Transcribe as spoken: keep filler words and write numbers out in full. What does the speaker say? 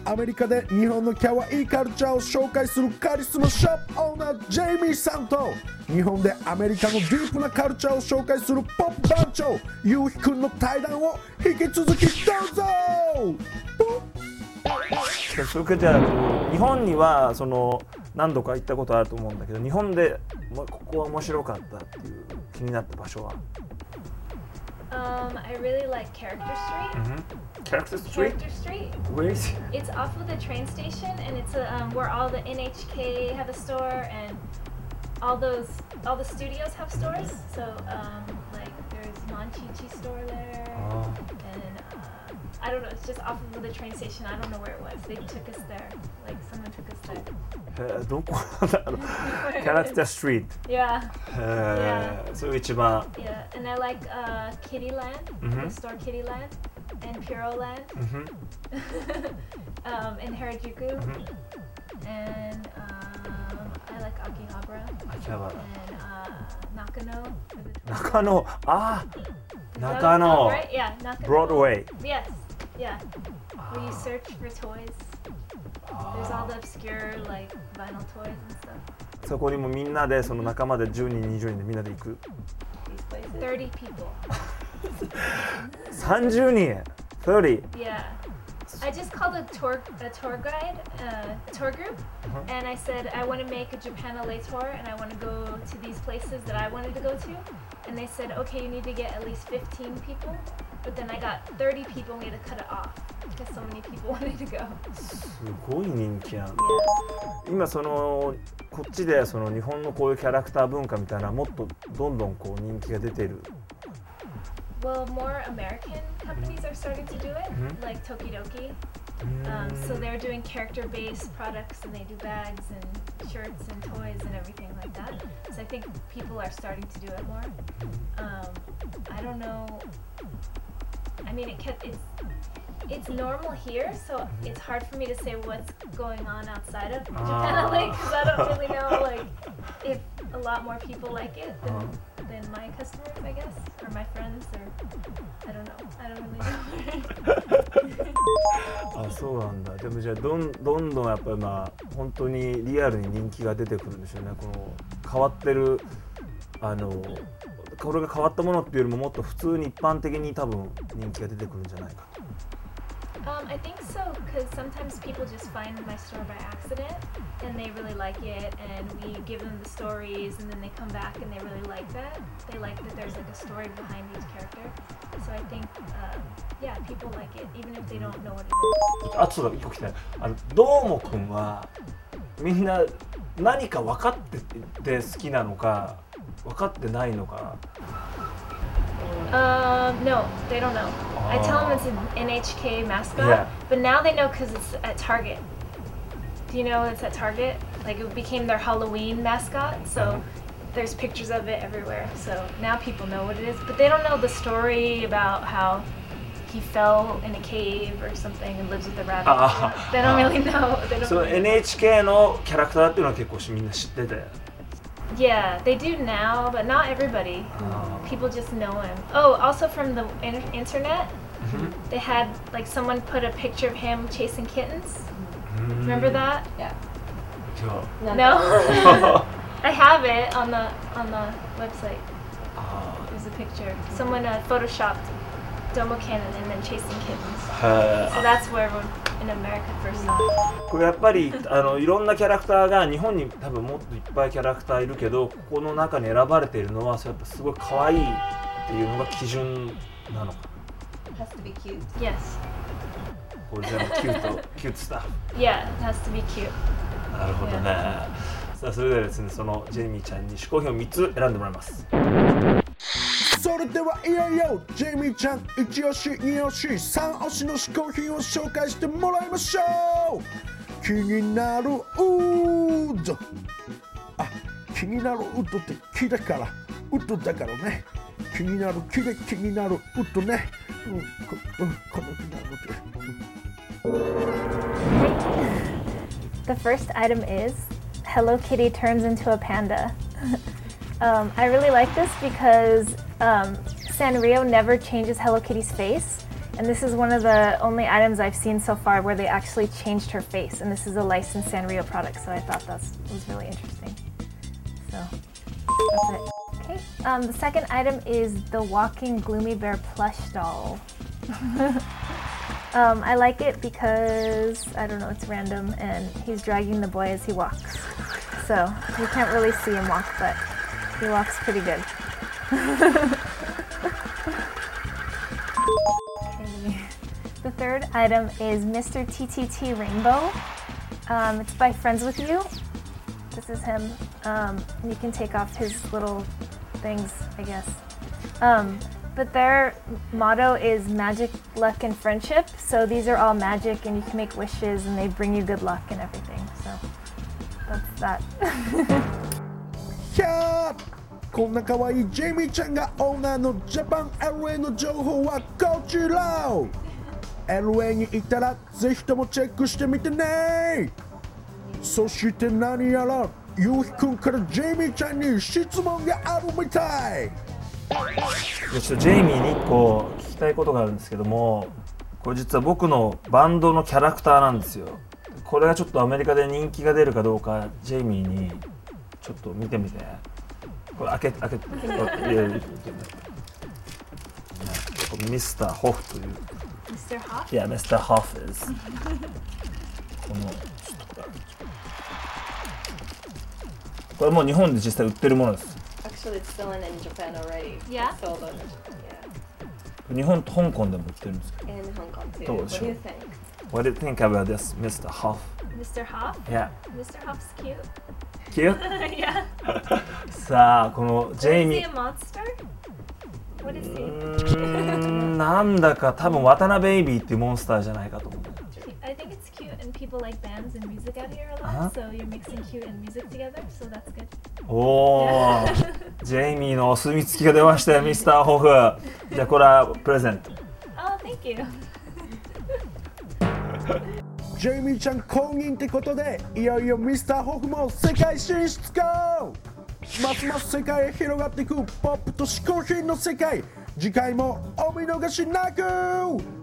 アメリカで日本の可愛いカルチャーを紹介するカリスマショップオーナージェイミーさんと日本でアメリカのディープなカルチャーを紹介するポップ番長ゆうひくんの対談を引き続きどうぞ。 それからじゃあ日本にはその何度か行ったことあると思うんだけど、日本でここは面白かったっていう気になった場所は Um, I really like Character Street. Mm-hmm. Character Street? Character Street. Where is it? It's off of the train station, and it's a, um, where all the N H K have a store, and all those all the studios have stores. So um, like there's Monchichi store there, Oh. and uh, I don't know. It's just off of the train station. I don't know where it was. They took us there. Like someone took us there. えーどこなんだろう。キャラクターストリート。 Yeah. えー、それが一番。 Yeah, and I like uh, Kittyland, Mhm. the store Kittyland, and Puroland, Mhm. um, and Harajuku, Mhm. and um, I like Akihabara, 秋葉原。 and uh, Nakano. 中野。ああ。 Is that 中 what it's called, 野。 right? Yeah, Nakano. Broadway. Yes, yeah. Where you search for toys. There's all the obscure like vinyl toys and stuff. そこにもみんなでその仲間でじゅうにんにじゅうにんでみんなで行く。 Thirty people. さんじゅうにん。さんじゅう。 Yeah. I just called a tour a tour guide, uh, a tour group, Uh-huh. and I said I want to make a Japan L A tour, and I want to go to these places that I wanted to go to, and they said, okay, you need to get at least fifteen people, but then I got thirty people, and we had to cut it off because so many people wanted to go. すごい人気なんだ。 Yeah. 今そのこっちでその日本のこういうキャラクター文化みたいなもっとどんどんこう人気が出てる。 Well, more American companies are starting to do it, Mhm. like Tokidoki. Um, so they're doing character-based products, and they do bags and shirts and toys and everything like that. So I think people are starting to do it more. Um, I don't know. I mean, it can, it's it's normal here, so it's hard for me to say what's going on outside of Japan, like, because I don't really know, like, if a lot more people like it than, than my customers, I guess, or my friends, or I don't know. I don't really know. あ、そうなんだ。でもじゃあどんどんどんやっぱりまあ本当にリアルに人気が出てくるんでしょうね。この変わってるあのこれが変わったものっていうよりももっと普通に一般的に多分人気が出てくるんじゃないかと。 Um, I think so, because sometimes people just find my store by accident and they really like it, and we give them the stories, and then they come back and they really like that. They like that there's like a story behind each character. So I think, um, yeah, people like it, even if they don't know what it is. あとそうだ、一個聞きたい。あのどーもくんはみんな何か分かってて好きなのか分かってないのか。 Um, no, they don't know. I tell them it's an N H K mascot, Yeah. but now they know because it's at Target. Do you know it's at Target? Like it became their Halloween mascot, so there's pictures of it everywhere. So now people know what it is, but they don't know the story about how he fell in a cave or something and lives with the rabbit. Ah. They don't really know. They don't その really エヌエイチケー のキャラクターっていうのは結構みんな知ってて。 Yeah, they do now, but not everybody. People just know him. Oh, also from the in- internet, they had like someone put a picture of him chasing kittens. Remember that? Yeah. じゃあ No. I have it on the on the website. あ There's a picture. Someone uh, photoshopped Domo Cannon and then chasing kittens. ー So that's where everyone in America first saw it. これやっぱりあのいろんなキャラクターが日本に多分もっといっぱいキャラクターいるけどここの中に選ばれているのはそうやっぱすごい可愛いっていうのが基準なのか It has to be cute. Yes. これ全部キュートキュートスタッフ Yeah, it has to be cute. なるほどねさあそれではですねそのジェイミーちゃんに嗜好品をみっつ選んでもらいますそれではいよいよジェイミーちゃん一押し二押し三押しの嗜好品を紹介してもらいましょう。気になるウッド、あ、気になるウッドって木だからウッドだからね。気になる木で気になるウッドね。うん、こ、うん、この気になる。 The first item is Hello Kitty turns into a panda. um, I really like this because um, Sanrio never changes Hello Kitty's face, And this is one of the only items I've seen so far where they actually changed her face. And this is a licensed Sanrio product, so I thought that was really interesting. So that's it. Okay. Um, the second item is the walking Gloomy Bear plush doll. um, I like it because, I don't know, it's random and he's dragging the boy as he walks. So you can't really see him walk, but he walks pretty good. Okay. The third item is Mister T T T Rainbow. Um, it's by Friends With You. This is him. Um, you can take off his little things, I guess. Um, but their motto is magic, luck, and friendship. So these are all magic, and you can make wishes, and they bring you good luck and everything. So that's that. キャーこんな可愛いジェイミーちゃんがオーナーのジャパン エルエー の情報はこちら。エルエー に行ったらぜひともチェックしてみてね。そして何やらゆうひくんからジェイミーちゃんに質問があるみたい。 ちょっとジェイミーにいっこ聞きたいことがあるんですけども、これ実は僕のバンドのキャラクターなんですよ。これがちょっとアメリカで人気が出るかどうかジェイミーにちょっと見てみて。これ開け開けてミスターホフという。 ミスターホフ？ Yeah, ミスターホフ is このこれもう日本で実際売ってるものです。 Actually, it's selling in Japan already. Yeah? It's sold on, yeah. 日本と香港でも売ってるんですけど。 In Hong Kong too. どう What でし do ょう you think? What do you think about this, ミスターホフ? Mister Hoff? Yeah. Mister Hoff's cute. Cute? Yeah. さあこのジェイ Is ミ he ー a monster? What is う he? ーんなんだか多分渡辺ベイビーっていうモンスターじゃないかと思う。 I think it's cute and people like bands and music out here a lot, Uh-huh. so you're mixing cute and music together, so that's good. おお、ジェイミーのお墨付きが出ましたよ、ミスターホフ。じゃあこれはプレゼント。 Oh, thank you. ジェイミーちゃん公認ってことでいよいよミスターホフも世界進出か。ますます世界へ広がっていくポップと嗜好品の世界。次回もお見逃しなく。